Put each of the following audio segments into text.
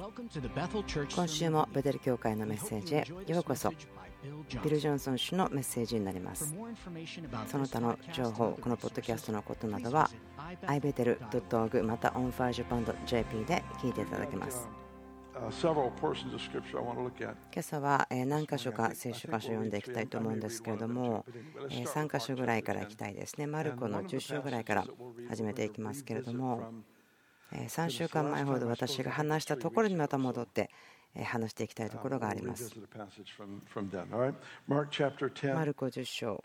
今週もベテル教会のメッセージへようこそ。ビル・ジョンソン氏のメッセージになります。その他の情報、このポッドキャストのことなどは ibetel.org また onfirejapan.jp で聞いていただけます。今朝は何箇所か聖書箇所を読んでいきたいと思うんですけれども、3箇所ぐらいからいきたいですね。マルコの10章ぐらいから始めていきますけれども、3週間前ほど私が話したところにまた戻って話していきたいところがあります。マルコ10章、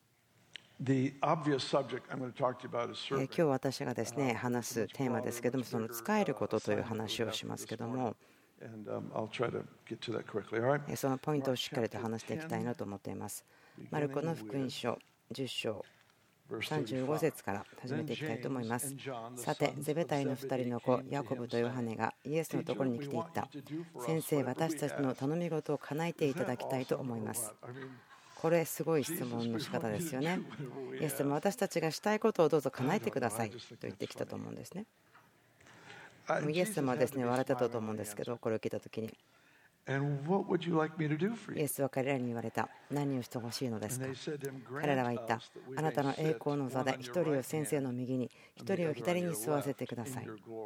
今日私がですね話すテーマですけども、その使えることという話をしますけども、そのポイントをしっかりと話していきたいなと思っています。マルコの福音書10章35節から始めていきたいと思います。さて、ゼベダイの2人の子ヤコブとヨハネがイエスのところに来ていった。先生、私たちの頼み事を叶えていただきたいと思います。これすごい質問の仕方ですよね。イエス様、私たちがしたいことをどうぞ叶えてくださいと言ってきたと思うんですね。イエス様はですね笑ってたと思うんですけど、これを聞いたときにイエスは彼らに言われた。何をしてほしいのですか。彼らは言った。あなたの栄光の座で一人を先生の右に一人を左に座らせてください。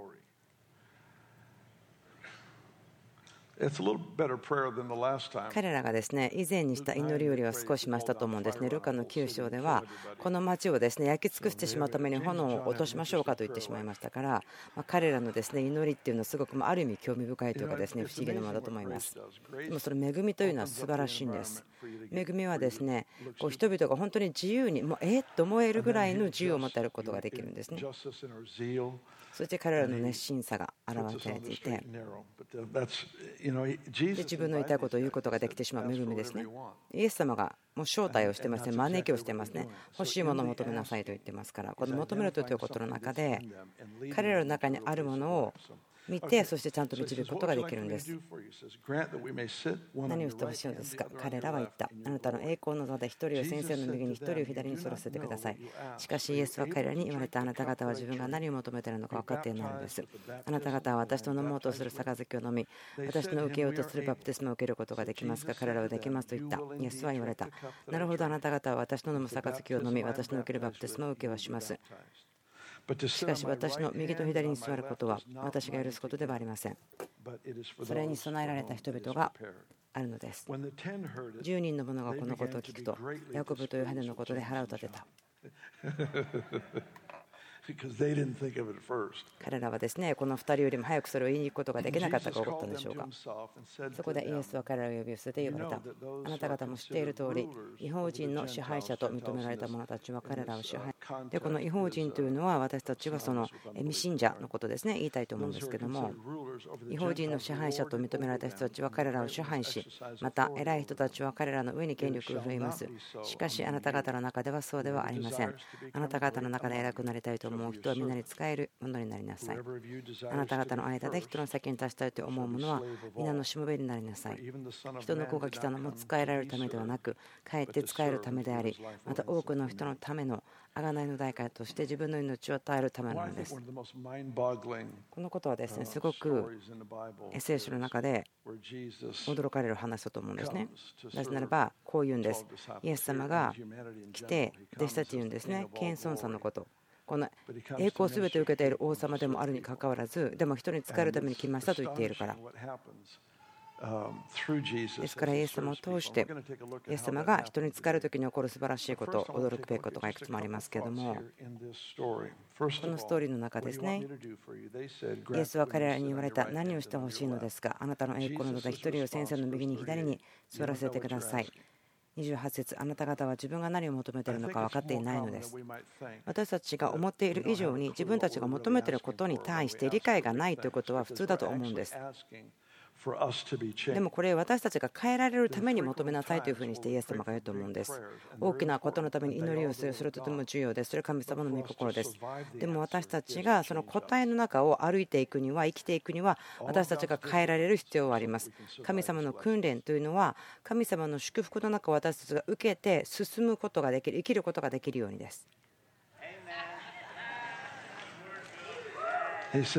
彼らがですね以前にした祈りよりは少し増したと思うんですね。ルカの9章ではこの町をですね焼き尽くしてしまうために炎を落としましょうかと言ってしまいましたから、彼らのですね祈りっていうのはすごくある意味興味深いというかですね不思議なものだと思います。でもその恵みというのは素晴らしいんです。恵みはですねこう人々が本当に自由にと思えるぐらいの自由を持っていることができるんですね。そして彼らの熱心さが表されていて、自分の言いたいことを言うことができてしまう恵みですね。イエス様がもう招待をしてますね、招きをしてますね。欲しいものを求めなさいと言ってますから、この求めるということの中で彼らの中にあるものを見て、そしてちゃんと導くことができるんです。何をしてほしいのですか。彼らは言った。あなたの栄光の座で一人を先生の右に一人を左に反らせてください。しかしイエスは彼らに言われた。あなた方は自分が何を求めているのか分かっていないのです。あなた方は私と飲もうとする杯を飲み、私の受けようとするバプテスマを受けることができますか。彼らはできますと言った。イエスは言われた。なるほど、あなた方は私の飲む杯を飲み、私の受けるバプテスマを受けはします。しかし私の右と左に座ることは私が許すことではありません。それに備えられた人々があるのです。10人の者がこのことを聞くと、ヤコブとヨハネのことで腹を立てた。彼らはですねこの2人よりも早くそれを言いに行くことができなかったか分かったんでしょうか。そこでイエスは彼らを呼び寄せて言われた。あなた方も知っている通り、違法人の支配者と認められた者たちは彼らを支配で、この違法人というのは私たちはその未信者のことですね、言いたいと思うんですけども、違法人の支配者と認められた人たちは彼らを支配し、また偉い人たちは彼らの上に権力を振るいます。しかしあなた方の中ではそうではありません。あなた方の中で偉くなりたいと思う人は皆に仕えるものになりなさい。あなた方の間で人の先に立ちたいと思う者は皆のしもべになりなさい。人の子が来たのも仕えられるためではなく、かえって仕えるためであり、また多くの人のための贖いの代価として自分の命を与えるためなのです。このことはですねすごく聖書の中で驚かれる話だと思うんですね。なぜならばこう言うんです。イエス様が来て弟子たち言うんですね、謙遜さんのこと。この栄光をすべて受けている王様でもあるにかかわらず、でも人に仕えるために来ましたと言っているからですから、イエス様を通してイエス様が人に仕えるときに起こる素晴らしいこと、驚くべきことがいくつもありますけれども、このストーリーの中ですね、イエスは彼らに言われた。何をしてほしいのですか。あなたの栄光の座で一人を先生の右に左に座らせてください。28節、あなた方は自分が何を求めているのか分かっていないのです。私たちが思っている以上に自分たちが求めていることに対して理解がないということは普通だと思うんです。でもこれ私たちが変えられるために求めなさいというふうにしてイエス様が言うと思うんです。大きなことのために祈りをする、それとても重要です。それは神様の御心です。でも私たちがその答えの中を歩いていくには、生きていくには、私たちが変えられる必要はあります。神様の訓練というのは神様の祝福の中を私たちが受けて進むことができる、生きることができるようにです。 イエス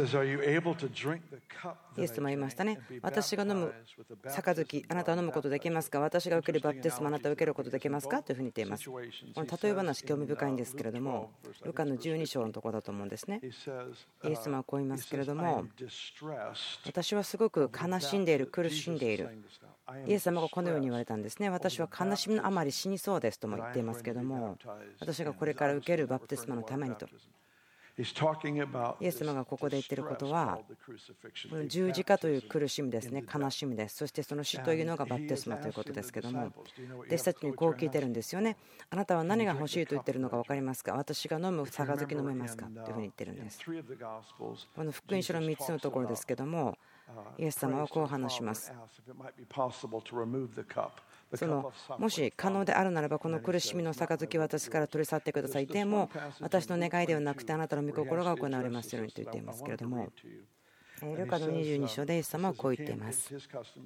様は言いましたね。私が飲む杯、あなたは飲むことできますか？私が受けるバプテスマ、あなたは受けることできますか？というふうに言っています。この例え話、興味深いんですけれども、ルカの12章のところだと思うんですね。イエス様はこう言いますけれども、私はすごく悲しんでいる、苦しんでいる。イエス様がこのように言われたんですね。私は悲しみのあまり死にそうですとも言っていますけれども、私がこれから受けるバプテスマのためにと。イエス様がここで言っていることは、この十字架という苦しみですね、悲しみです。そしてその死というのがバプテスマということですけども、弟子たちにこう聞いてるんですよね。あなたは何が欲しいと言っているのか分かりますか？私が飲む杯飲めますか？というふうに言ってるんです。この福音書の3つのところですけども、イエス様はこう話します。もし可能であるならば、この苦しみの杯を私から取り去ってください。でも私の願いではなくてあなたの御心が行われますようにと言っていますけれども、ルカの22章でイエス様はこう言っています。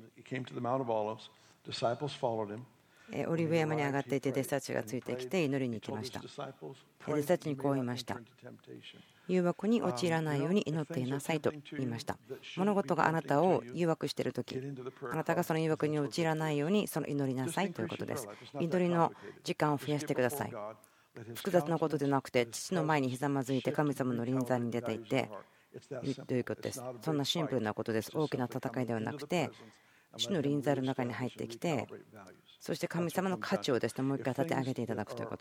オリーブ山に上がっていて弟子たちがついてきて祈りに行きました。弟子たちにこう言いました。誘惑に陥らないように祈っていなさいと言いました。物事があなたを誘惑しているとき、あなたがその誘惑に陥らないようにその祈りなさいということです。祈りの時間を増やしてください。複雑なことでなくて、父の前にひざまずいて神様の臨在に出ていってということです。そんなシンプルなことです。大きな戦いではなくて、主の臨在の中に入ってきて、そして神様の価値をですね、もう一回立て上げていただくということ。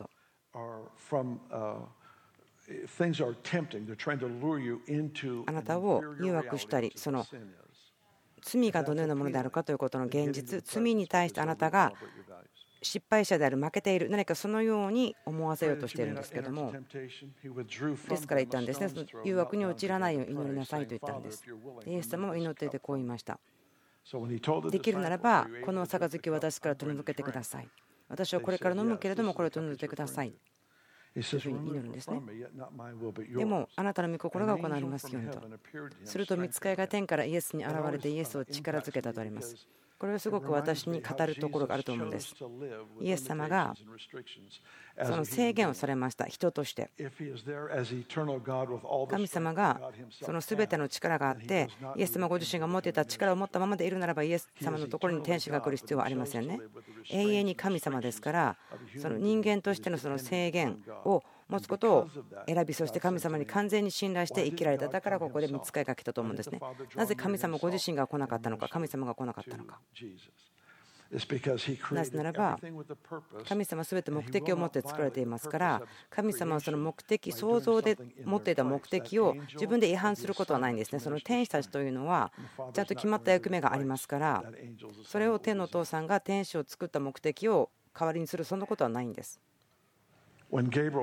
あなたを誘惑したり、その罪がどのようなものであるかということの現実、罪に対してあなたが失敗者である、負けている、何かそのように思わせようとしているんですけども、ですから言ったんですね。その誘惑に陥らないように祈りなさいと言ったんです。イエス様も祈っていてこう言いました。できるならばこの杯を私から取り除けてください。私はこれから飲むけれどもこれを取り除いてくださいというふうに祈るんですね。でもあなたの御心が行われますようにと。すると御使いが天からイエスに現れてイエスを力づけたとあります。これはすごく私に語るところがあると思うんです。イエス様がその制限をされました。人として神様がその全ての力があって、イエス様ご自身が持っていた力を持ったままでいるならば、イエス様のところに天使が来る必要はありませんね。永遠に神様ですから、その人間としてのその制限を持つことを選び、そして神様に完全に信頼して生きられた。だからここで御使いが来たと思うんですね。なぜ神様ご自身が来なかったのか、神様が来なかったのか。なぜならば神様は全て目的を持って作られていますから、神様はその目的、創造で持っていた目的を自分で違反することはないんですね。その天使たちというのはちゃんと決まった役目がありますから、それを天のお父さんが天使を作った目的を代わりにする、そんなことはないんです。ガ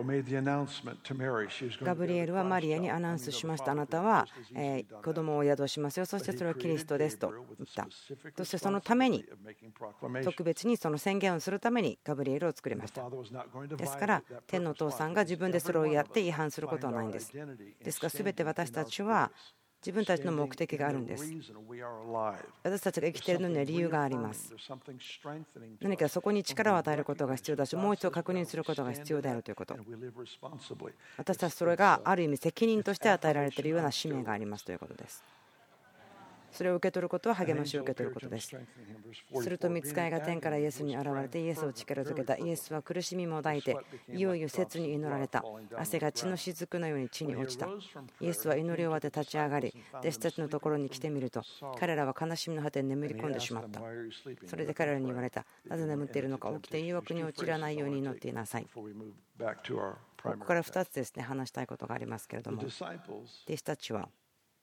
ブリエルはマリアにアナウンスしました。あなたは子供を宿しますよ。そしてそれはキリストですと言った。そしてそのために、特別にその宣言をするためにガブリエルを作りました。ですから天のお父さんが自分でそれをやって違反することはないんです。ですから全て私たちは自分たちの目的があるんです。私たちが生きているのには理由があります。何かそこに力を与えることが必要だし、もう一度確認することが必要であるということ。私たちそれがある意味責任として与えられているような使命がありますということです。それを受け取ることは励ましを受け取ることです。すると御使いが天からイエスに現れてイエスを力づけた。イエスは苦しみも抱いていよいよ切に祈られた。汗が血の雫のように地に落ちた。イエスは祈り終わって立ち上がり、弟子たちのところに来てみると、彼らは悲しみの果てに眠り込んでしまった。それで彼らに言われた。なぜ眠っているのか、起きて誘惑に陥らないように祈っていなさい。ここから2つですね、話したいことがありますけれども、弟子たちは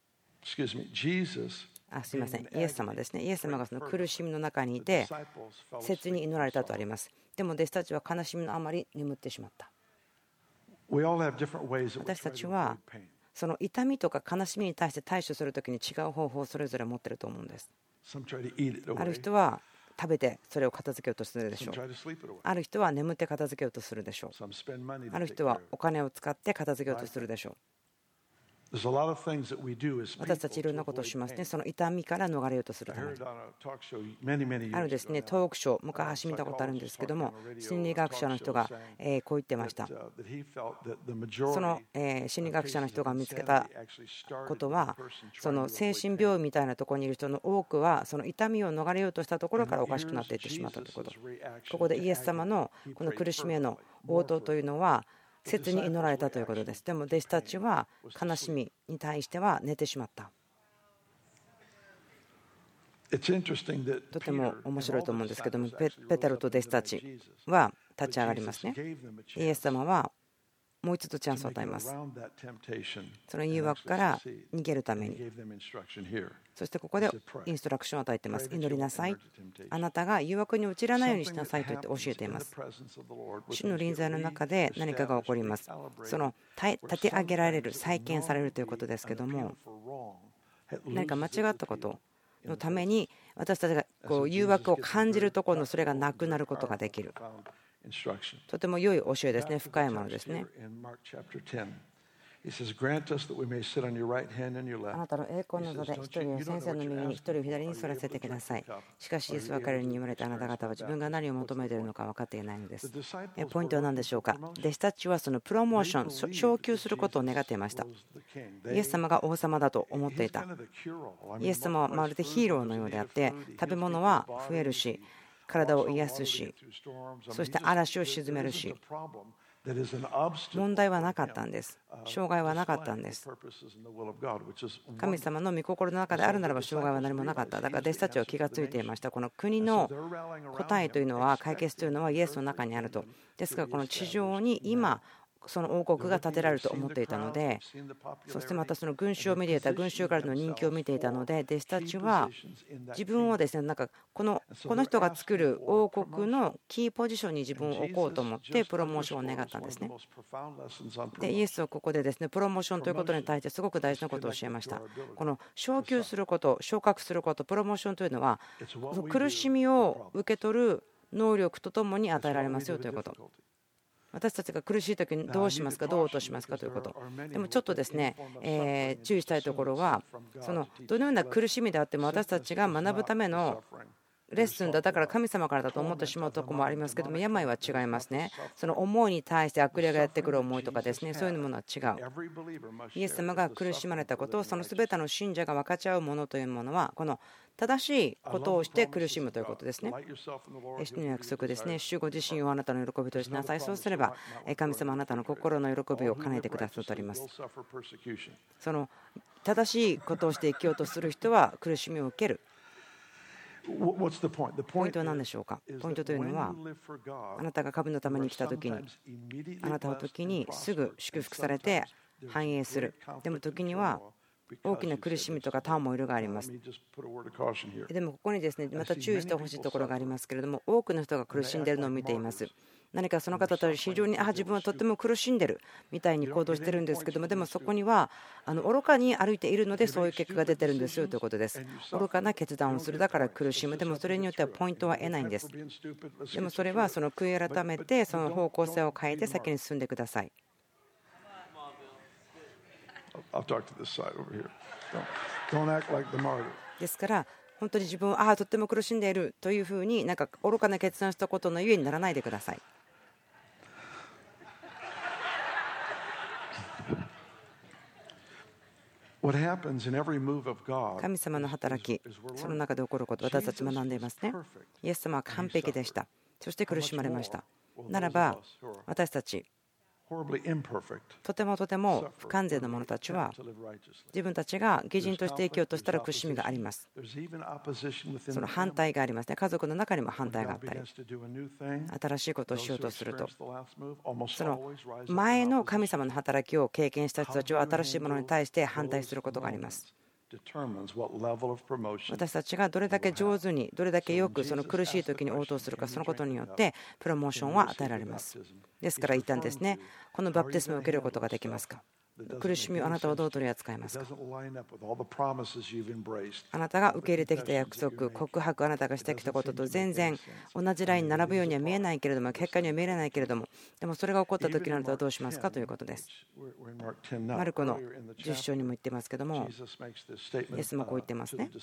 すみません、イエス様ですね。イエス様がその苦しみの中にいて切に祈られたとあります。でも弟子たちは悲しみのあまり眠ってしまった。私たちはその痛みとか悲しみに対して対処するときに違う方法をそれぞれ持っていると思うんです。ある人は食べてそれを片付けようとするでしょう。ある人は眠って片付けようとするでしょう。ある人はお金を使って片付けようとするでしょう。 私たちいろんなことをしますね。その痛みから逃れようとするために。ですね、トークショー、昔見たことあるんですけども、心理学者の人がこう言ってました。その心理学者の人が見つけたことは、その精神病院みたいなところにいる人の多くは、その痛みを逃れようとしたところからおかしくなっていってしまったということ。ここでイエス様のこの苦しみへの応答というのは、切に祈られたということです。でも弟子たちは悲しみに対しては寝てしまった。とても面白いと思うんですけども、ペテロと弟子たちは立ち上がりますね。イエス様はもう一度チャンスを与えます。その誘惑から逃げるために。そしてここでインストラクションを与えています。祈りなさい。あなたが誘惑に陥らないようにしなさいと言って教えています。主の臨在の中で何かが起こります。その立て上げられる、再建されるということですけども、何か間違ったことのために私たちがこう誘惑を感じるところのそれがなくなることができる。とても良い教えですね。深いものですね。あなたの栄光の座で一人を先生の右に一人を左に座らせてください。しかしイエスは彼らに言われた。あなた方は自分が何を求めているのか分かっていないのです。ポイントは何でしょうか。弟子たちはそのプロモーション、昇級することを願っていました。イエス様が王様だと思っていた。イエス様はまるでヒーローのようであって、食べ物は増えるし、体を癒すし、そして嵐を鎮めるし、問題はなかったんです。障害はなかったんです。神様の御心の中であるならば障害は何もなかった。だから弟子たちは気がついていました。この国の答えというのは、解決というのはイエスの中にあると。ですからこの地上に今その王国が建てられると思っていたので、そしてまたその群衆を見ていた、群衆からの人気を見ていたので、弟子たちは自分をですね、なんかこの人が作る王国のキーポジションに自分を置こうと思ってプロモーションを願ったんですね。でイエスはここでですね、プロモーションということに対してすごく大事なことを教えました。この昇級すること、昇格すること、プロモーションというのは苦しみを受け取る能力とともに与えられますよということ。私たちが苦しい時にどうしますか、どう落としますかということ。でもちょっとですね、注意したいところは、そのどのような苦しみであっても私たちが学ぶためのレッスンだから神様からだと思ってしまうところもありますけども、病は違いますね。その思いに対して悪霊がやってくる思いとかですね、そういうものは違う。イエス様が苦しまれたことをその全ての信者が分かち合うものというものは、この正しいことをして苦しむということですね。主の約束ですね。主ご自身をあなたの喜びとしなさい。そうすれば神様あなたの心の喜びを叶えてくださっております。その正しいことをして生きようとする人は苦しみを受ける。ポイントは何でしょうか。ポイントというのは、あなたが神のために来た時に、あなたの時にすぐ祝福されて繁栄する。でも時には大きな苦しみとかターモイルがあります。でもここにですね、また注意してほしいところがありますけれども、多くの人が苦しんでいるのを見ています。何かその方たち非常に自分はとっても苦しんでるみたいに行動してるんですけども、でもそこには愚かに歩いているのでそういう結果が出てるんですよということです。愚かな決断をする、だから苦しむ。でもそれによってはポイントは得ないんです。でもそれはその悔い改めてその方向性を変えて先に進んでください。ですから本当に自分はとっても苦しんでいるというふうになんか愚かな決断したことのゆえにならないでください。神様の働き、その中で起こること、私たち学んでいますね。イエス様は完璧でした。そして苦しまれました。ならば私たちとても不完全な者たちは自分たちが義人として生きようとしたら苦しみがあります。その反対がありますね。家族の中にも反対があったり、新しいことをしようとすると、その前の神様の働きを経験した人たちは新しいものに対して反対することがあります。私たちがどれだけ上手に、どれだけよくその苦しい時に応答するか、そのことによってプロモーションは与えられます。ですから言ったんですね、このバプテスマを受けることができますか。 苦しみをあなたはどう取り扱いますか。あなたが受け入れてきた約束、告白、あなたがしてきたことと全然同じラインに並ぶようには見えないけれども、結果には見えないけれども、でもそれが起こった時にあなたはどうしますかということです。マルコの10章にも言ってますけども、イエスもこう言ってますね。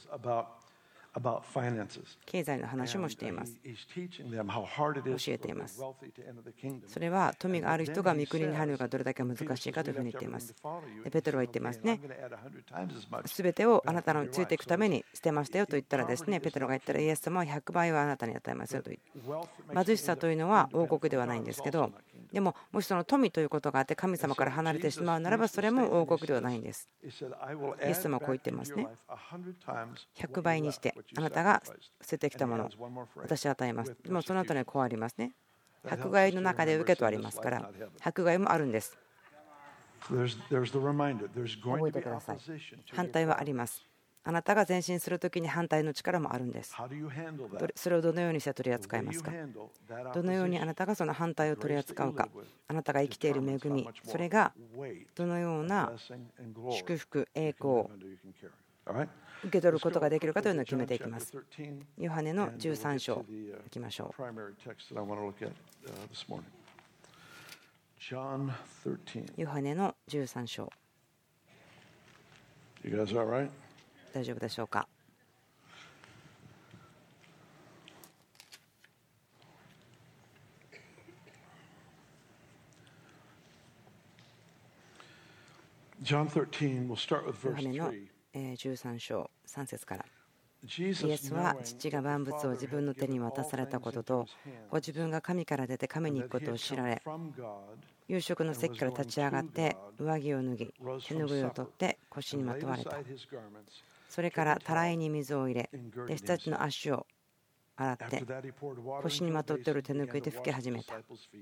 経済の話もしています。教えています。それは富がある人が御国に入るのがどれだけ難しいかというふうに言っています。ペテロは言っていますね。すべてをあなたのついていくために捨てましたよと言ったらですね、ペテロが言ったらイエス様は100倍はあなたに与えますよと言って、貧しさというのは王国ではないんですけど、でももしその富ということがあって神様から離れてしまうならばそれも王国ではないんです。イエス様はこう言ってますね。100倍にしてあなたが捨ててきたものを私は与えます。でもその後にこうありますね。迫害の中で受けとありますから、迫害もあるんです。覚えてください。反対はあります。あなたが前進するときに反対の力もあるんです。それをどのようにして取り扱いますか。どのようにあなたがその反対を取り扱うか。あなたが生きている恵み、それがどのような祝福、栄光を受け取ることができるかというのを決めていきます。ヨハネの13章いきましょう。ヨハネの13章。大丈夫でしょうか。ヨハネの13章3節から。イエスは父が万物を自分の手に渡されたことと、ご自分が神から出て神に行くことを知られ、夕食の席から立ち上がって上着を脱ぎ、手ぬぐいを取って腰にまとわれた。それからたらいに水を入れ、弟子たちの足を洗って腰にまとっている手ぬぐいで拭き始めた。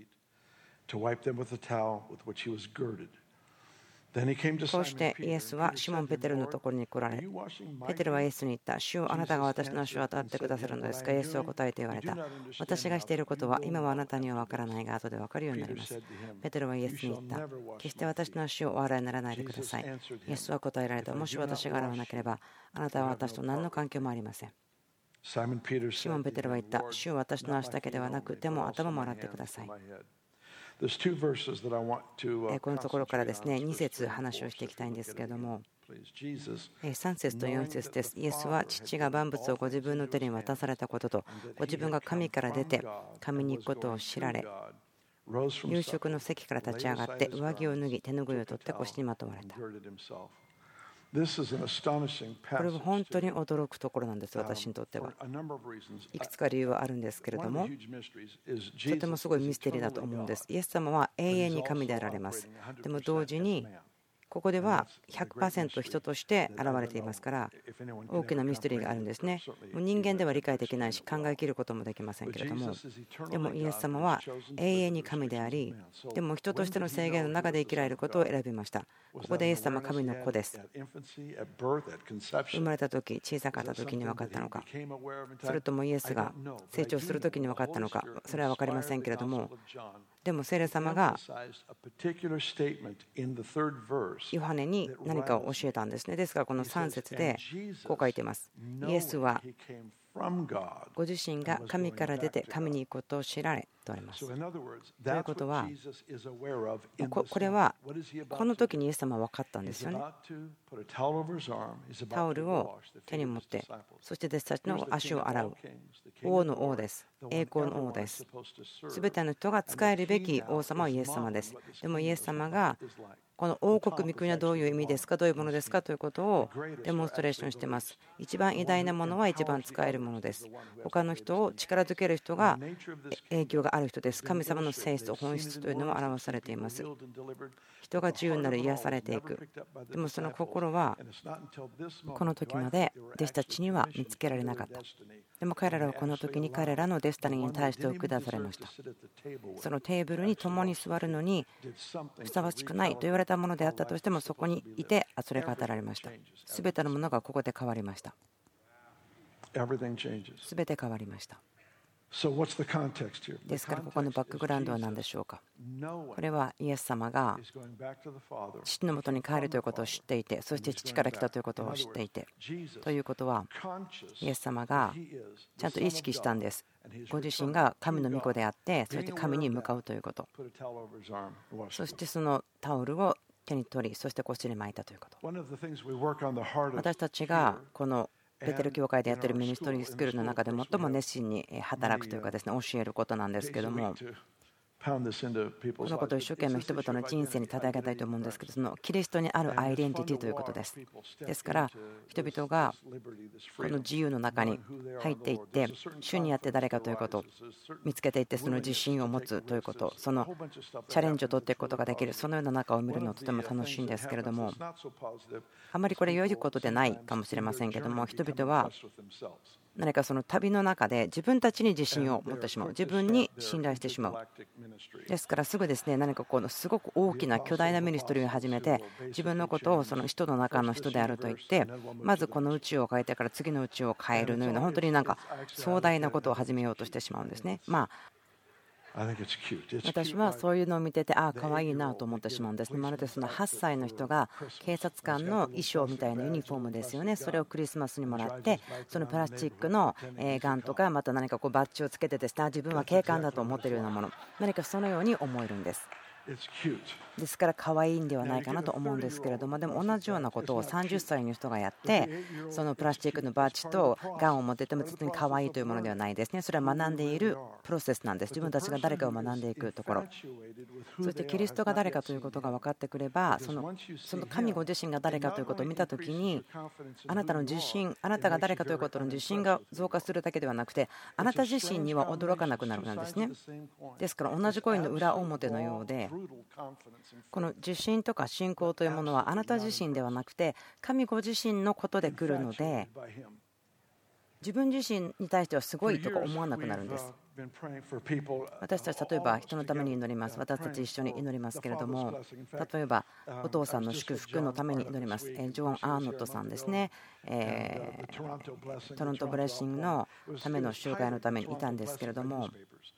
こうしてイエスはシモン・ペテロのところに来られ、ペテロはイエスに言った。主よ、あなたが私の足を洗ってくださるのですか。イエスは答えて言われた。私がしていることは今はあなたには分からないが後で分かるようになります。ペテロはイエスに言った。決して私の足をお洗いにならないでください。イエスは答えられた。もし私が洗わなければあなたは私と何の関係もありません。シモン・ペテロは言った。主よ、私の足だけではなく手も頭も洗ってください。このところからですね、2節話をしていきたいんですけれども、3節と4節です。イエスは父が万物をご自分の手に渡されたことと、ご自分が神から出て神に行くことを知られ、夕食の席から立ち上がって上着を脱ぎ手ぬぐいを取って腰にまとわれた。これは本当に驚くところなんです、私にとっては。いくつか理由はあるんですけれども、とてもすごいミステリーだと思うんです。イエス様は永遠に神であられます。でも同時にここでは 100% 人として現れていますから、大きなミステリーがあるんですね。もう人間では理解できないし考えきることもできませんけれども、でもイエス様は永遠に神であり、でも人としての制限の中で生きられることを選びました。ここでイエス様は神の子です。生まれた時、小さかった時に分かったのか、それともイエスが成長する時に分かったのか、それは分かりませんけれども、でも聖霊様がヨハネに何かを教えたんですね。ですからこの3節でこう書いています。イエスはご自身が神から出て神に行くことを知られとあります。ということは、これはこの時にイエス様は分かったんですよね。タオルを手に持って、そして弟子たちの足を洗う。王の王です。栄光の王です。すべての人が仕えるべき王様はイエス様です。でもイエス様がこの王国、御国はどういう意味ですか、どういうものですかということをデモンストレーションしています。一番偉大なものは一番使えるものです。他の人を力づける人が影響がある人です。神様の性質、本質というのも表されています。人が自由になる、癒されていく。でもその心はこの時まで弟子たちには見つけられなかった。でも彼らはこの時に彼らのデスタニーに対して下されました。そのテーブルに共に座るのにふさわしくないと言われたものであったとしても、そこにいてそれが与えられました。すべてのものがここで変わりました。すべて変わりました。 ですからここのバックグラウンドは何でしょうか。これはイエス様が父のもとに帰るということを知っていて、そして父から来たということを知っていて、ということはイエス様がちゃんと意識したんです。ご自身が神の御子であって、そして神に向かうということ、そしてそのタオルを手に取り、そして腰に巻いたということ。私たちがこのベテル教会でやっているミニストリースクールの中で最も熱心に働くというかですね、教えることなんですけども、このことを一生懸命人々の人生に叩き上げたいと思うんですけど、そのキリストにあるアイデンティティということです。ですから人々がこの自由の中に入っていって、主にあって誰かということを見つけていって、その自信を持つということ、そのチャレンジを取っていくことができる、そのような中を見るのはとても楽しいんですけれども、あまりこれ良いことでないかもしれませんけども、人々は何かその旅の中で自分たちに自信を持ってしまう、自分に信頼してしまう。ですからすぐですね、何かこのすごく大きな巨大なミニストリーを始めて、自分のことをその人の中の人であると言って、まずこの宇宙を変えてから次の宇宙を変えるのような、本当になんか壮大なことを始めようとしてしまうんですね。私はそういうのを見てて、ああ可愛いなと思ってしまうんですね。まるでその8歳の人が警察官の衣装みたいなユニフォームですよね。それをクリスマスにもらって、そのプラスチックのガンとかまた何かこうバッジをつけてですね、自分は警官だと思っているようなもの、何かそのように思えるんです。ですから可愛いんではないかなと思うんですけれども、でも同じようなことを30歳の人がやって、そのプラスチックのバッジとガンを持ってても別に可愛いというものではないですね。それは学んでいるプロセスなんです。自分たちが誰かを学んでいくところ、そしてキリストが誰かということが分かってくれば、その神ご自身が誰かということを見たときに、あなたの自信、あなたが誰かということの自信が増加するだけではなくて、あなた自身には驚かなくなるんですね。ですから同じコインの裏表のようで、この自信とか信仰というものはあなた自身ではなくて神ご自身のことで来るので、自分自身に対してはすごいとか思わなくなるんです。私たち例えば人のために祈ります。私たち一緒に祈りますけれども、例えばお父さんの祝福のために祈ります。ジョン・アーノットさんですね、トロントブレッシングのための集会のためにいたんですけれども、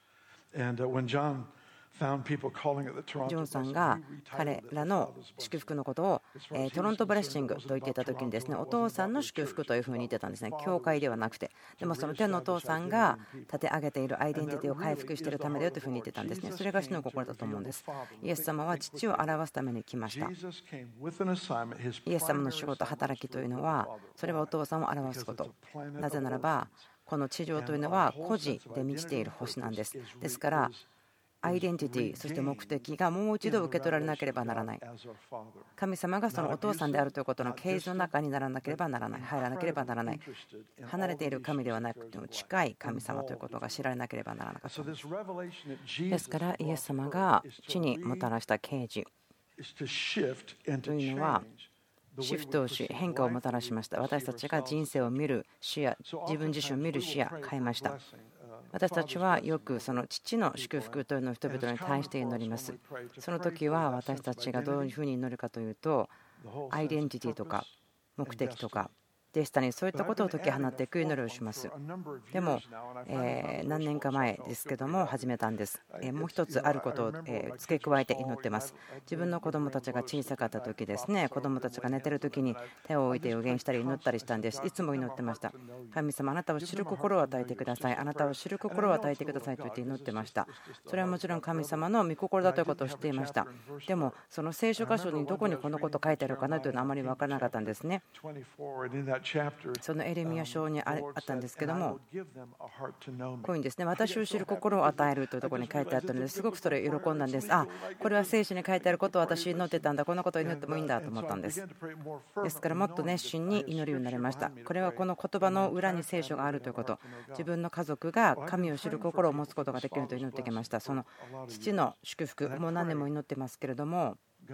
ジョンさんが彼らの祝福のことをトロントブレッシングと言っていた時にですね、お父さんの祝福というふうに言ってたんですね。教会ではなくて、でもその天のお父さんが立て上げているアイデンティティを回復しているためだよというふうに言ってたんですね。それが主の心だと思うんです。イエス様は父を表すために来ました。イエス様の仕事、働きというのは、それはお父さんを表すこと。なぜならばこの地上というのは孤児で満ちている星なんです。ですからアイデンティティ、そして目的がもう一度受け取られなければならない。神様がそのお父さんであるということの啓示の中にならなければならない、入らなければならない。離れている神ではなくても近い神様ということが知られなければならなかったんです。ですからイエス様が地にもたらした啓示というのはシフトをし変化をもたらしました。私たちが人生を見る視野、自分自身を見る視野を変えました。私たちはよくその父の祝福というのを人々に対して祈ります。その時は私たちがどういうふうに祈るかというと、アイデンティティとか目的とかデスタにそういったことを解き放っていく祈りをします。でも何年か前ですけども始めたんです。もう一つあることを付け加えて祈ってます。自分の子供たちが小さかった時ですね、子供たちが寝てる時に手を置いて予言したり祈ったりしたんです。いつも祈ってました。神様、あなたを知る心を与えてください、あなたを知る心を与えてくださいと言って祈ってました。それはもちろん神様の御心だということを知っていました。でもその聖書箇所にどこにこのこと書いてあるかなというのはあまり分からなかったんですね。そのエレミヤ書にあったんですけども、こういうんですね、私を知る心を与えるというところに書いてあったのですごくそれを喜んだんです。あ、これは聖書に書いてあることを私祈ってたんだ、こんなことを祈ってもいいんだと思ったんです。ですからもっと熱心に祈るようになりました。これはこの言葉の裏に聖書があるということ、自分の家族が神を知る心を持つことができると祈ってきました。その父の祝福、もう何年も祈ってますけれども、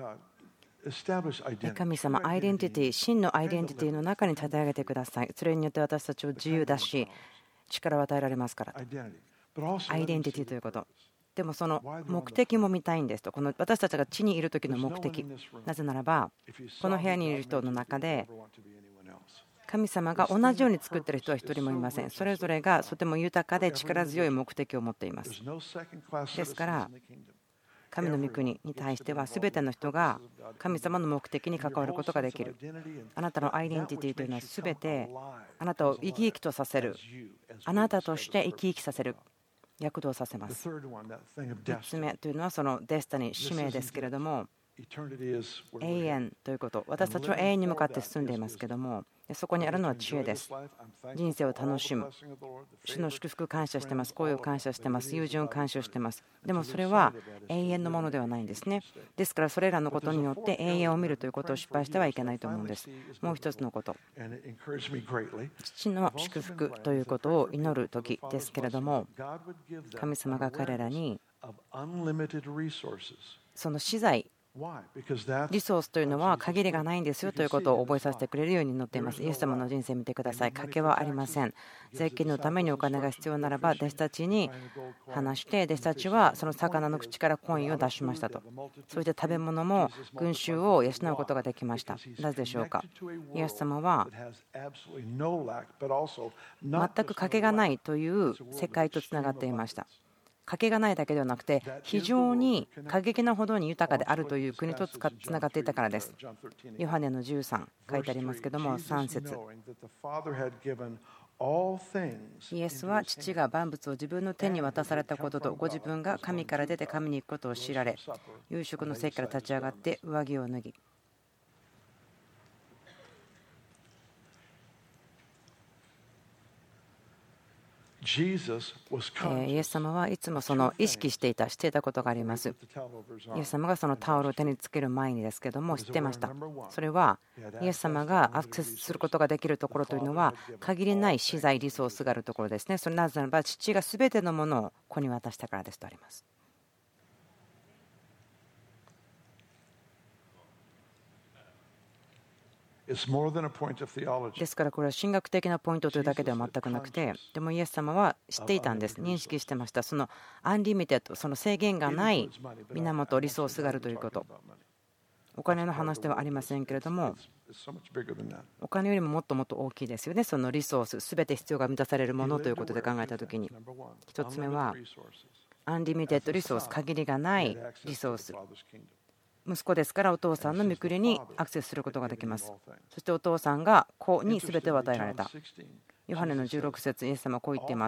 神様、アイデンティティ、真のアイデンティティの中に立て上げてください。それによって私たちを自由だし力を与えられますからと。アイデンティティということ。でもその目的も見たいんですと。この私たちが地にいる時の目的。なぜならばこの部屋にいる人の中で神様が同じように作っている人は一人もいません。それぞれがとても豊かで力強い目的を持っています。ですから神の御国に対しては全ての人が神様の目的に関わることができる。あなたのアイデンティティというのは全てあなたを生き生きとさせる、あなたとして生き生きさせる、躍動させます。3つ目というのはそのデスタニー、使命ですけれども、永遠ということ、私たちは永遠に向かって進んでいますけども、そこにあるのは知恵です。人生を楽しむ、主の祝福感謝してます、恋を感謝してます、友人を感謝してます。でもそれは永遠のものではないんですね。ですからそれらのことによって永遠を見るということを失敗してはいけないと思うんです。もう一つのこと、父の祝福ということを祈る時ですけれども、神様が彼らにその資材、リソースというのは限りがないんですよということを覚えさせてくれるように載っています。イエス様の人生を見てください。賭けはありません。税金のためにお金が必要ならば弟子たちに話して、弟子たちはその魚の口からコインを出しましたと。そして食べ物も群衆を養うことができました。なぜでしょうか。イエス様は全く賭けがないという世界とつながっていました。賭けがないだけではなくて、非常に過激なほどに豊かであるという国とつながっていたからです。ヨハネの13書いてありますけども、3節、イエスは父が万物を自分の手に渡されたことと、ご自分が神から出て神に行くことを知られ、夕食の席から立ち上がって上着を脱ぎ、イエス様はいつもその意識していたことがあります。イエス様がそのタオルを手につける前にですけども知ってました。それはイエス様がアクセスすることができるところというのは限りない資材リソースがあるところですね。それなぜならば父が全てのものを子に渡したからですとあります。ですからこれは神学的なポイントというだけでは全くなくて、でもイエス様は知っていたんです。認識してました。そのアンリミテッド、その制限がない源リソースがあるということ。お金の話ではありませんけれども、お金よりももっともっと大きいですよね。そのリソース、すべて必要が満たされるものということで考えたときに、1つ目はアンリミテッドリソース、限りがないリソース。息子ですからお父さんの御国にアクセスすることができます。そしてお父さんが子に全てを与えられた。ヨハネの16節、イエス様はこう言っています。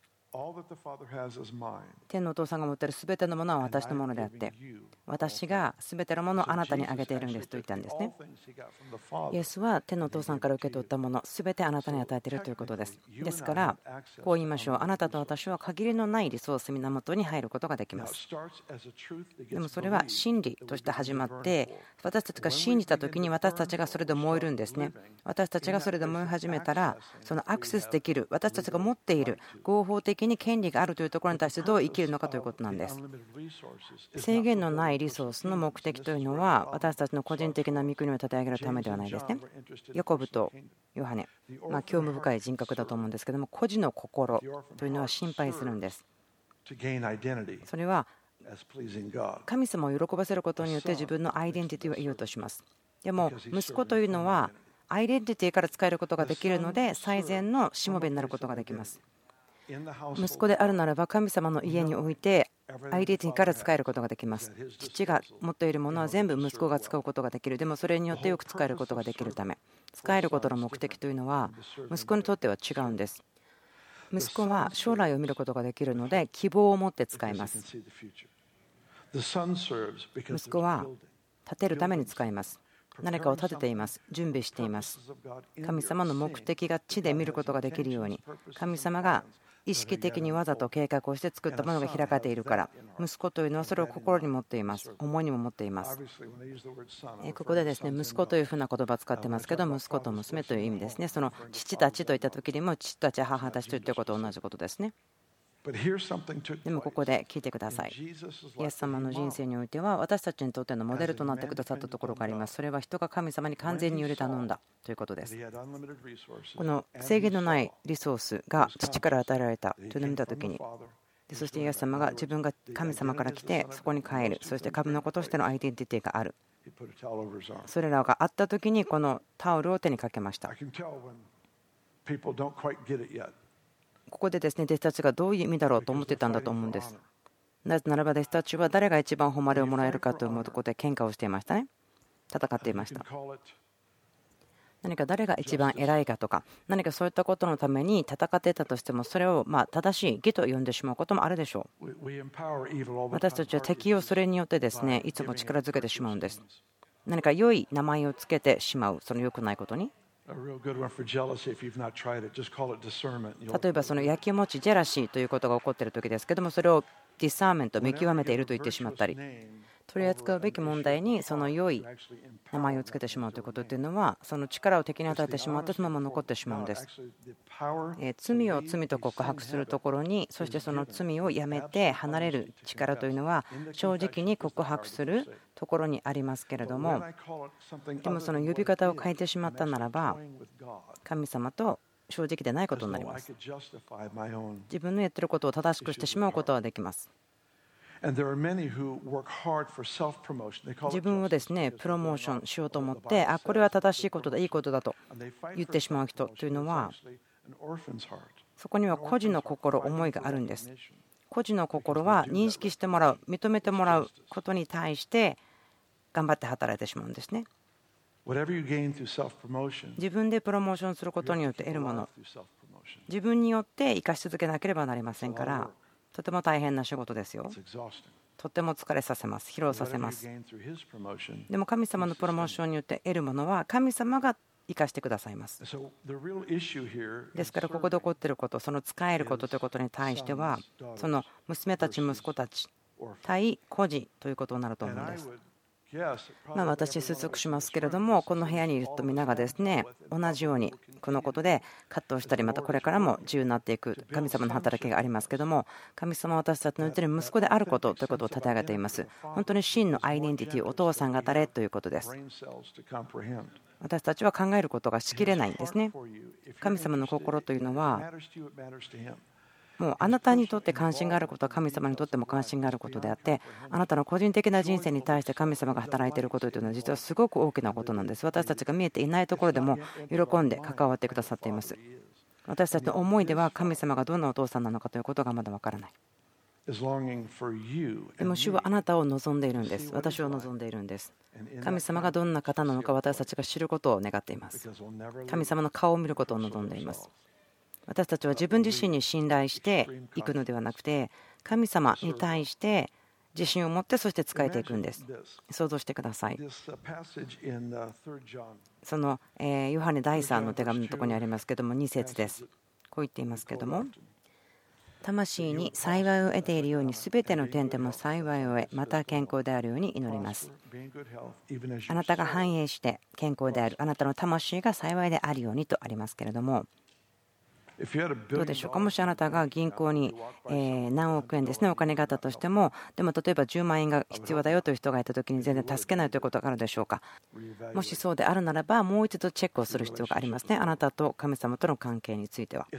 天のお父さんが持っている全てのものは私のものであって、私が全てのものをあなたにあげているんですと言ったんですね。イエスは天のお父さんから受け取ったもの全てあなたに与えているということです。ですからこう言いましょう。あなたと私は限りのないリソース源に入ることができます。でもそれは真理として始まって、私たちが信じた時に私たちがそれで燃えるんですね。私たちがそれで燃え始めたら、そのアクセスできる私たちが持っている合法的に権利があるというところに対してどう生きるのかということなんです。制限のないリソースの目的というのは私たちの個人的な御国を立て上げるためではないですね。ヤコブとヨハネ、興味深い人格だと思うんですけども、孤児の心というのは心配するんです。それは神様を喜ばせることによって自分のアイデンティティを得ようとします。でも息子というのはアイデンティティから使えることができるので、最善のしもべになることができます。息子であるならば神様の家においてアイデンティティから使えることができます。父が持っているものは全部息子が使うことができる。でもそれによってよく使えることができるため、使えることの目的というのは息子にとっては違うんです。息子は将来を見ることができるので希望を持って使います。息子は立てるために使います。何かを立てています。準備しています。神様の目的が地で見ることができるように、神様が意識的にわざと計画をして作ったものが開かれているから、息子というのはそれを心に持っています。思いにも持っています。ここでですね、息子というふうな言葉を使ってますけど、息子と娘という意味ですね。その父たちといった時にも父たち母たちといったことと同じことですね。でもここで聞いてください。イエス様の人生においては私たちにとってのモデルとなってくださったところがあります。それは人が神様に完全により頼んだということです。この制限のないリソースが父から与えられたというのを見たときに、そしてイエス様が自分が神様から来てそこに帰る、そして神の子としてのアイデンティティがある。 それらがあった時にこのタオルを手にかけました。ここでですね、弟子たちがどういう意味だろうと思ってたんだと思うんです。なぜならば弟子たちは誰が一番誉れをもらえるかということで喧嘩をしていましたね。戦っていました。何か誰が一番偉いかとか、何かそういったことのために戦っていたとしても、それを正しい義と呼んでしまうこともあるでしょう。私たちは敵をそれによってですね、いつも力づけてしまうんです。何か良い名前をつけてしまう、その良くないことに。例えばそのやきもちジェラシーということが起こっている時ですけども、それをディサーメント、見極めていると言ってしまったり、取り扱うべき問題にその良い名前をつけてしまうということというのは、その力を敵に与えてしまってそのまま残ってしまうんです。罪を罪と告白するところに、そしてその罪をやめて離れる力というのは正直に告白するところにありますけれども、でもその呼び方を変えてしまったならば神様と正直でないことになります。自分のやっていることを正しくしてしまうことはできます。自分をですねプロモーションしようと思って、これは正しいことだ、いいことだと言ってしまう人というのは、そこには孤児の心、思いがあるんです。孤児の心は認識してもらう、認めてもらうことに対して頑張って働いてしまうんですね。自分でプロモーションすることによって得るもの、自分によって生かし続けなければなりませんから、とても大変な仕事ですよ。とても疲れさせます、疲労させます。でも神様のプロモーションによって得るものは神様が生かしてくださいます。ですからここで起こっていること、その使えることということに対しては、その娘たち息子たち対孤児ということになると思うんです。私推測しますけれども、この部屋にいると皆がですね同じようにこのことで葛藤したり、またこれからも自由になっていく神様の働きがありますけれども、神様は私たちのうちに息子であることということを立て上げています。本当に真のアイデンティティ、お父さんが誰ということです。私たちは考えることがしきれないんですね。神様の心というのはもうあなたにとって関心があることは神様にとっても関心があることであって、あなたの個人的な人生に対して神様が働いていることというのは実はすごく大きなことなんです。私たちが見えていないところでも喜んで関わってくださっています。私たちの思いでは神様がどんなお父さんなのかということがまだわからない。でも主はあなたを望んでいるんです。私を望んでいるんです。神様がどんな方なのか私たちが知ることを願っています。神様の顔を見ることを望んでいます。私たちは自分自身に信頼していくのではなくて、神様に対して自信を持って、そして仕えていくんです。想像してください。そのヨハネ第3の手紙のところにありますけども、2節です。こう言っていますけども、魂に幸いを得ているように全ての点でも幸いを得、また健康であるように祈ります。あなたが繁栄して健康である、あなたの魂が幸いであるようにとありますけれども、どうでしょうか。もしあなたが銀行に何億円ですねお金があったとしても、でも例えば10万円が必要だよという人がいたときに全然助けないということがあるでしょうか。もしそうであるならば、もう一度チェックをする必要がありますね。あなたと神様との関係については。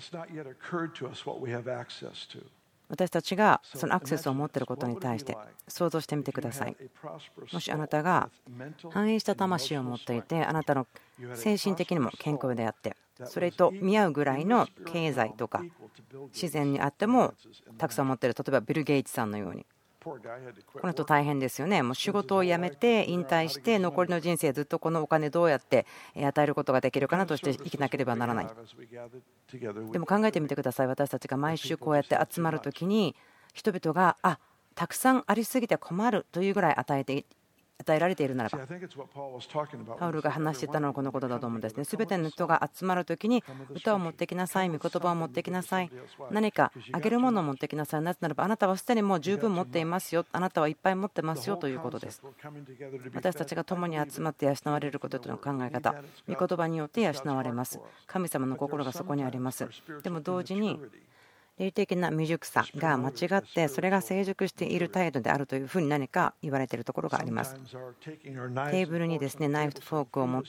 私たちがそのアクセスを持っていることに対して想像してみてください。もしあなたが繁栄した魂を持っていて、あなたの精神的にも健康であって、それと見合うぐらいの経済とか自然にあってもたくさん持っている、例えばビル・ゲイツさんのように、この人大変ですよね。もう仕事を辞めて引退して残りの人生ずっとこのお金どうやって与えることができるかなとして生きなければならない。でも考えてみてください。私たちが毎週こうやって集まるときに、人々がたくさんありすぎて困るというぐらい与えられているならば、パウルが話していたのはこのことだと思うんですね。すべての人が集まるときに、歌を持ってきなさい、御言葉を持ってきなさい、何かあげるものを持ってきなさい。なぜならばあなたはすでにもう十分持っていますよ、あなたはいっぱい持ってますよということです。私たちが共に集まって養われることとの考え方、御言葉によって養われます。神様の心がそこにあります。でも同時に霊的な未熟さが間違って、それが成熟している態度であるというふうに何か言われているところがあります。テーブルにですねナイフとフォークを持って、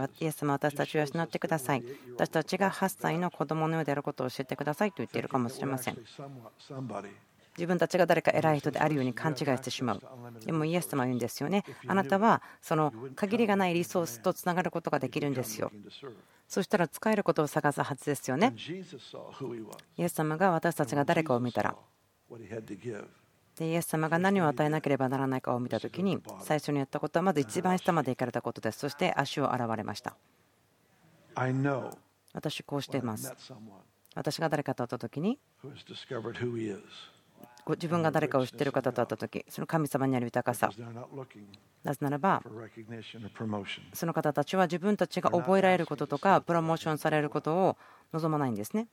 イエス様、私たちを養ってください、私たちが8歳の子供のようであることを教えてくださいと言っているかもしれません。 自分たちが誰か偉い人であるように勘違いしてしまう。でもイエス様は言うんですよね。あなたはその限りがないリソースとつながることができるんですよ。そしたら使えることを探すはずですよね。イエス様が私たちが誰かを見たら、でイエス様が何を与えなければならないかを見たときに、最初にやったことはまず一番下まで行かれたことです。そして足を洗われました。私こうしています。私が誰かと会ったときに、自分が誰かを知っている方と会ったとき、その神様にある豊かさ、なぜならばその方たちは自分たちが覚えられることとかプロモーションされることを望まないんですね。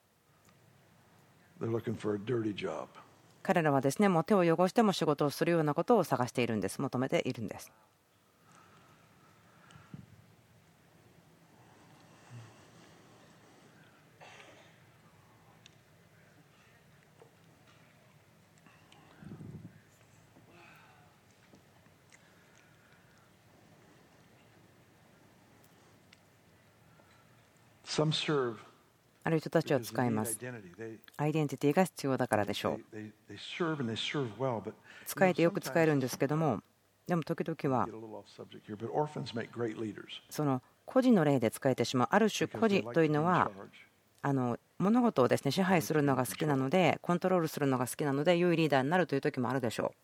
彼らはですね、もう手を汚しても仕事をするようなことを探しているんです。求めているんです。ある人たちは使います。アイデンティティが必要だからでしょう。使えてよく使えるんですけども、でも時々はその孤児の例で使えてしまう。ある種孤児というのは物事をですね支配するのが好きなので、コントロールするのが好きなので良いリーダーになるという時もあるでしょう。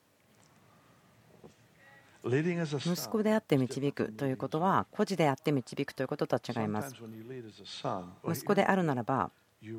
息子であって導くということは孤児であって導くということとは違います。息子であるならば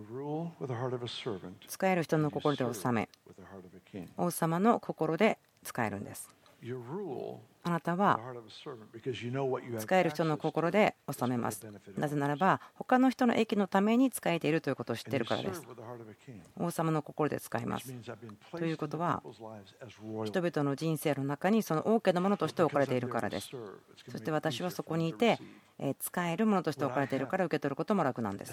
使える人の心で治め、王様の心で使えるんです。あなたは使える人の心で治めます。なぜならば他の人の益のために使えているということを知っているからです。王様の心で使います。ということは人々の人生の中にその王家のものとして置かれているからです。そして私はそこにいて使えるものとして置かれているから受け取ることも楽なんです。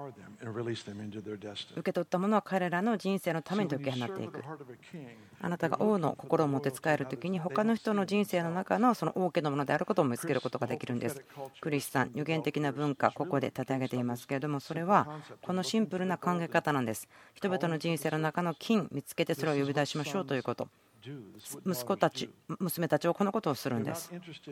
受け取ったものは彼らの人生のために解き放っていく。あなたが王の心を持って使えるときに他の人の人生の中のその王家のものであることを見つけることができるんです。クリスさん、予言的な文化、ここで立て上げていますけれども、それはこのシンプルな考え方なんです。人々の人生の中の金見つけてそれを呼び出しましょうということ。息子たち、娘たちはこのことをするんです。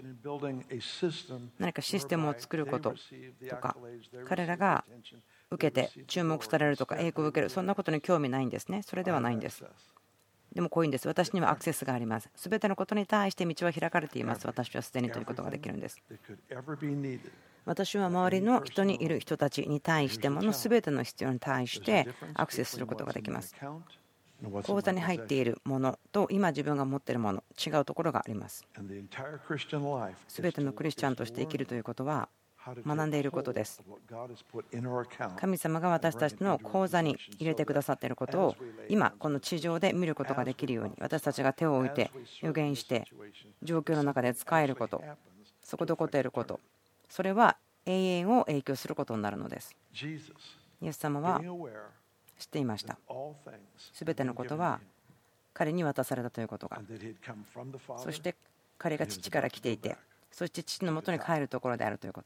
何かシステムを作ることとか、彼らが受けて注目されるとか栄光を受ける、そんなことに興味ないんですね。それではないんです。でもこういうんです。私にはアクセスがあります。すべてのことに対して道は開かれています。私はすでにということができるんです。私は周りの人にいる人たちに対してものすべての必要に対してアクセスすることができます。口座に入っているものと今自分が持っているもの、違うところがあります。すべてのクリスチャンとして生きるということは学んでいることです。神様が私たちの口座に入れてくださっていることを今この地上で見ることができるように、私たちが手を置いて予言して状況の中で使えること、そこで起こっていること、それは永遠を影響することになるのです。イエス様は知っていました。すべてのことは彼に渡されたということが、そして彼が父から来ていて、そして父のもとに帰るところであるということ。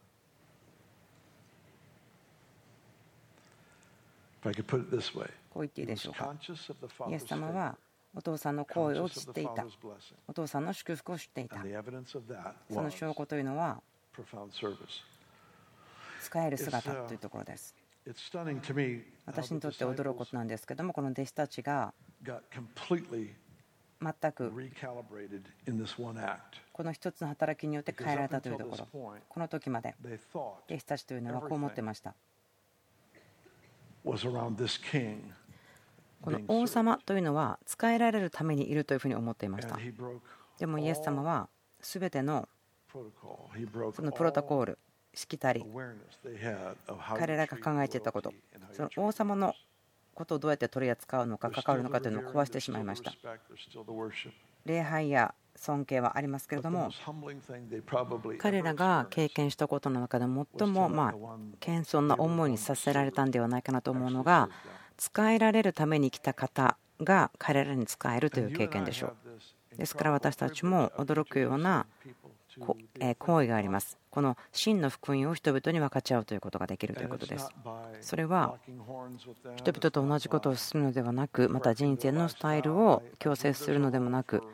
こう言っていいでしょうか。イエス様はお父さんの行為を知っていた。お父さんの祝福を知っていた。その証拠というのは使える姿というところです。私にとって驚くことなんですけども、この弟子たちが全くこの一つの働きによって変えられたというところ、この時まで弟子たちというのはこう思ってました。この王様というのは使えられるためにいるというふうに思っていました。でもイエス様は全てのそのプロトコール、しきたり、彼らが考えていたこと、その王様のことをどうやって取り扱うのか関わるのかというのを壊してしまいました。礼拝や尊敬はありますけれども、彼らが経験したことの中で最も謙遜な思いにさせられたんではないかなと思うのが、使えられるために来た方が彼らに使えるという経験でしょう。ですから私たちも驚くような行為があります。この真の福音を人々に分かち合うということができるということです。それは人々と同じことをするのではなく、また人生のスタイルを強制するのでもなく、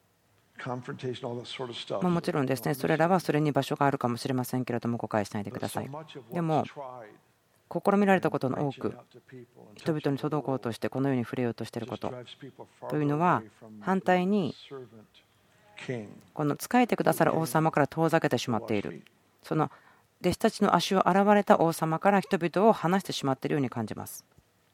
もちろんですね、それらはそれに場所があるかもしれませんけれども、誤解しないでください。でも試みられたことの多く、人々に届こうとしてこのように触れようとしていることというのは、反対にこの仕えてくださる王様から遠ざけてしまっている、その弟子たちの足を洗われた王様から人々を離してしまっているように感じます。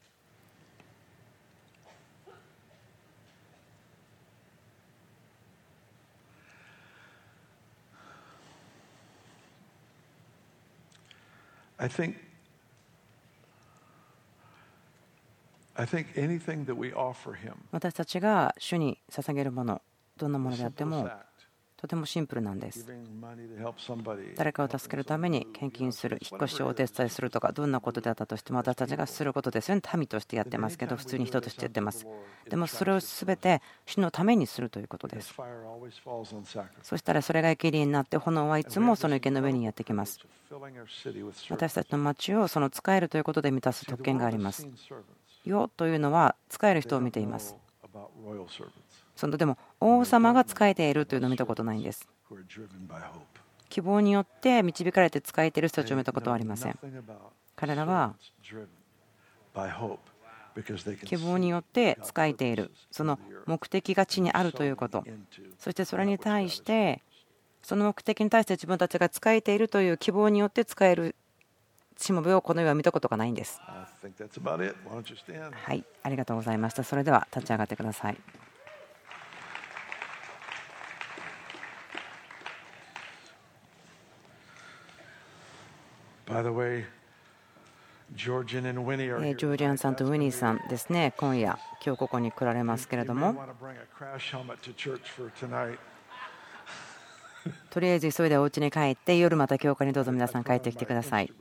私たちが主に捧げるもの、どんなものであってもとてもシンプルなんです。誰かを助けるために献金する、引っ越しをお手伝いするとか、どんなことであったとしても私たちがすることですよね。民としてやってますけど、普通に人としてやってます。でもそれを全て主のためにするということです。そしたらそれが生贄になって、炎はいつもその池の上にやってきます。私たちの町をその使えるということで満たす特権があります。世というのは使える人を見ています。でも王様が仕えているというのを見たことないんです。希望によって導かれて仕えている人たちを見たことはありません。彼らは希望によって仕えている、その目的が地にあるということ、そしてそれに対してその目的に対して自分たちが仕えているという希望によって仕えるしもべをこの世は見たことがないんです。はい、ありがとうございました。それでは立ち上がってください。ジョージアンさんとウィニーさんですね、今日ここに来られますけれども、とりあえず急いでお家に帰って、夜また教会にどうぞ皆さん帰ってきてください。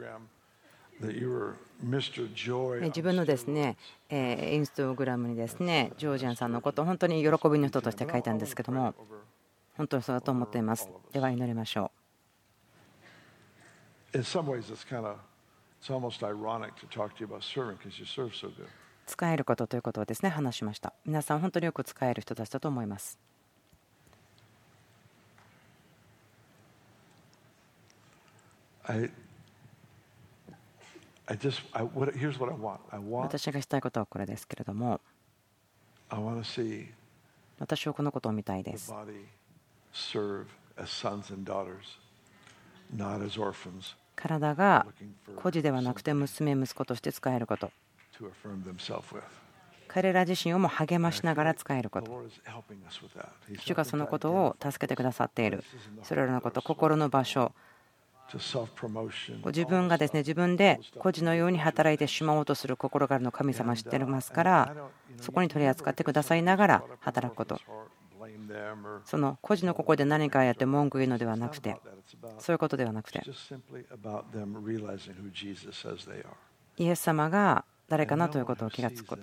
自分のですねインスタグラムにですねジョージアンさんのことを本当に喜びの人として書いたんですけども、本当にそうだと思っています。では祈りましょう。使えることということをですね話しました。皆さん本当によく使える人たちだと思います。私がしたいことはこれですけれども、私はこのことを見たいです。体が孤児ではなくて娘息子として使えること、彼ら自身をも励ましながら使えること、主がそのことを助けてくださっている。それらのこと、心の場所、自分がですね自分で孤児のように働いてしまおうとする心があるのを神様は知っていますから、そこに取り扱ってくださいながら働くこと、その孤児の心で何かやって文句言うのではなくて、そういうことではなくて、イエス様が誰かなということを気がつくこと、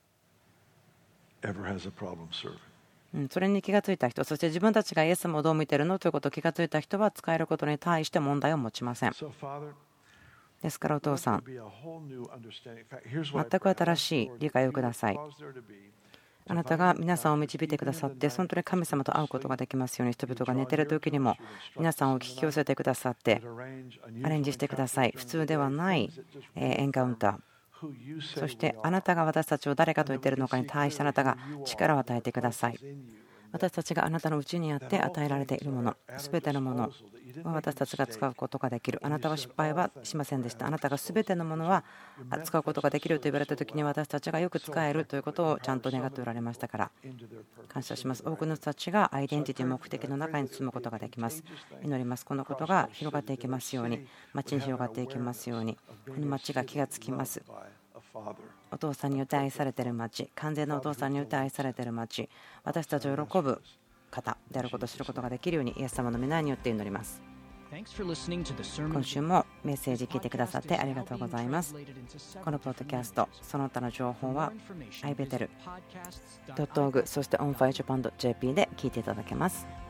それに気がついた人、そして自分たちがイエス様をどう見ているのということを気がついた人は使えることに対して問題を持ちません。ですからお父さん、全く新しい理解をください。あなたが皆さんを導いてくださって、本当に神様と会うことができますように、人々が寝ている時にも皆さんを引き寄せてくださってアレンジしてください。普通ではないエンカウンター、そしてあなたが私たちを誰かと言っているのかに対してあなたが力を与えてください。私たちがあなたのうちにあって与えられているもの、すべてのものは私たちが使うことができる。あなたは失敗はしませんでした。あなたがすべてのものは使うことができると言われた時に、私たちがよく使えるということをちゃんと願っておられましたから感謝します。多くの人たちがアイデンティティ、目的の中に住むことができます。祈ります。このことが広がっていきますように、町に広がっていきますように、この町が気がつきます。お父さんによって愛されている町、完全なお父さんによって愛されている町、私たちを喜ぶ方であることを知ることができるように、イエス様の皆によって祈ります。今週もメッセージ聞いてくださってありがとうございます。このポッドキャスト、その他の情報は ibetel.org、 そして onfirejapan.jp で聞いていただけます。